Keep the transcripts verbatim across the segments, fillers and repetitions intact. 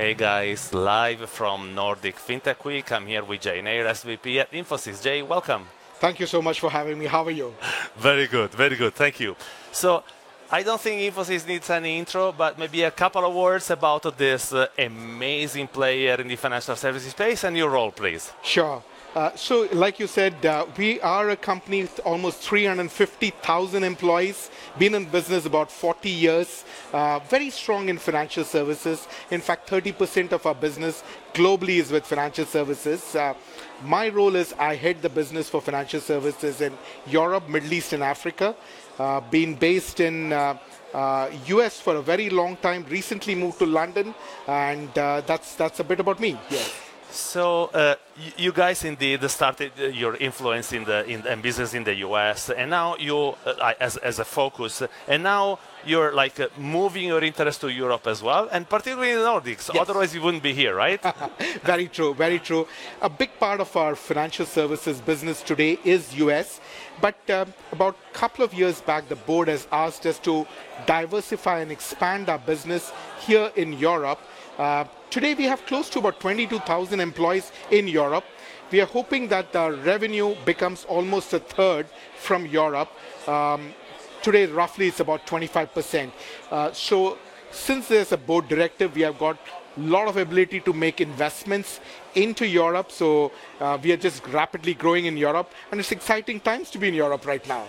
Hey guys, live from Nordic FinTech Week. I'm here with Jay Nair, S V P at Infosys. Jay, welcome. Thank you so much for having me. How are you? Very good, very good. Thank you. So, I don't think Infosys needs any intro, but maybe a couple of words about this uh, amazing player in the financial services space and your role, please. Sure. Uh, so, like you said, uh, we are a company with almost three hundred fifty thousand employees, been in business about forty years, uh, very strong in financial services. In fact, thirty percent of our business globally is with financial services. Uh, my role is I head the business for financial services in Europe, Middle East, and Africa. Uh, been based in uh, uh, U S for a very long time, recently moved to London, and uh, that's, that's a bit about me. Yes. So uh, you guys indeed started your influence in the in, in business in the U S, and now you uh, as as a focus, and now you're like uh, moving your interest to Europe as well, and particularly in the Nordics. Yes. Otherwise, you wouldn't be here, right? Very true, very true. A big part of our financial services business today is U S, but um, about a couple of years back, the board has asked us to diversify and expand our business here in Europe. Uh, today we have close to about twenty-two thousand employees in Europe. We are hoping that our revenue becomes almost a third from Europe. Um, today roughly it's about twenty-five percent. Uh, so since there's a board directive, we have got a lot of ability to make investments into Europe. So uh, we are just rapidly growing in Europe, and it's exciting times to be in Europe right now.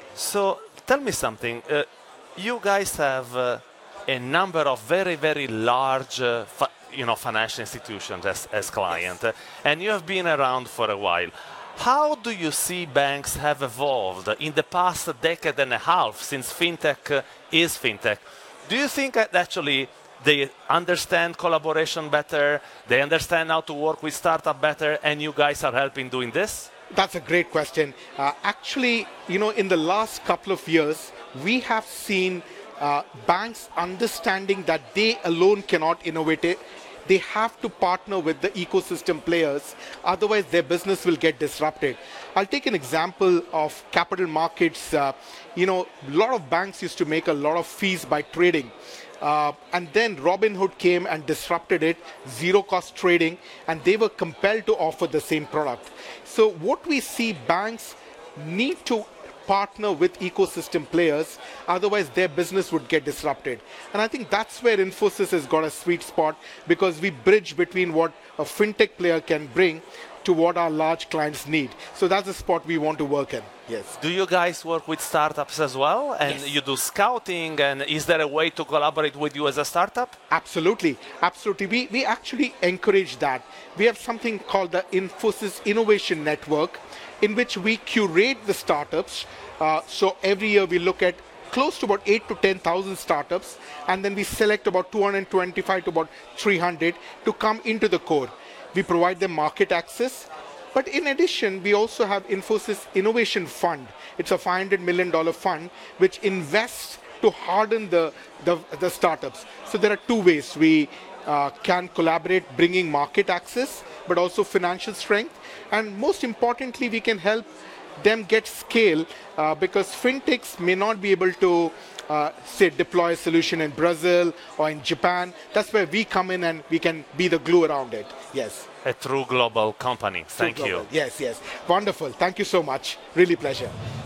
So tell me something. Uh, you guys have uh, a number of very, very large uh, you know, financial institutions as, as client, yes. uh, and you have been around for a while. How do you see banks have evolved in the past decade and a half since FinTech uh, is FinTech? Do you think that actually they understand collaboration better, they understand how to work with startup better, and you guys are helping doing this? That's a great question. Uh, actually, you know, in the last couple of years, we have seen Uh, banks understanding that they alone cannot innovate it. They have to partner with the ecosystem players, otherwise their business will get disrupted. I'll take an example of capital markets. Uh, you know, a lot of banks used to make a lot of fees by trading. Uh, and then Robinhood came and disrupted it, zero-cost trading, and they were compelled to offer the same product. So what we see, banks need to partner with ecosystem players, otherwise their business would get disrupted. And I think that's where Infosys has got a sweet spot, because we bridge between what a fintech player can bring to what our large clients need. So that's the spot we want to work in. Yes. Do you guys work with startups as well? And yes. You do scouting, and is there a way to collaborate with you as a startup? Absolutely, absolutely. We, we actually encourage that. We have something called the Infosys Innovation Network, in which we curate the startups. Uh, so every year we look at close to about eight to ten thousand startups, and then we select about two hundred twenty-five to about three hundred to come into the core. We provide them market access. But in addition, we also have Infosys Innovation Fund. It's a five hundred million dollars fund which invests to harden the, the, the startups. So there are two ways we uh, can collaborate, bringing market access, but also financial strength. And most importantly, we can help them get scale, uh, because fintechs may not be able to, uh, say, deploy a solution in Brazil or in Japan. That's where we come in and we can be the glue around it. Yes. A true global company. Thank True you. global. Yes, yes. Wonderful. Thank you so much. Really pleasure.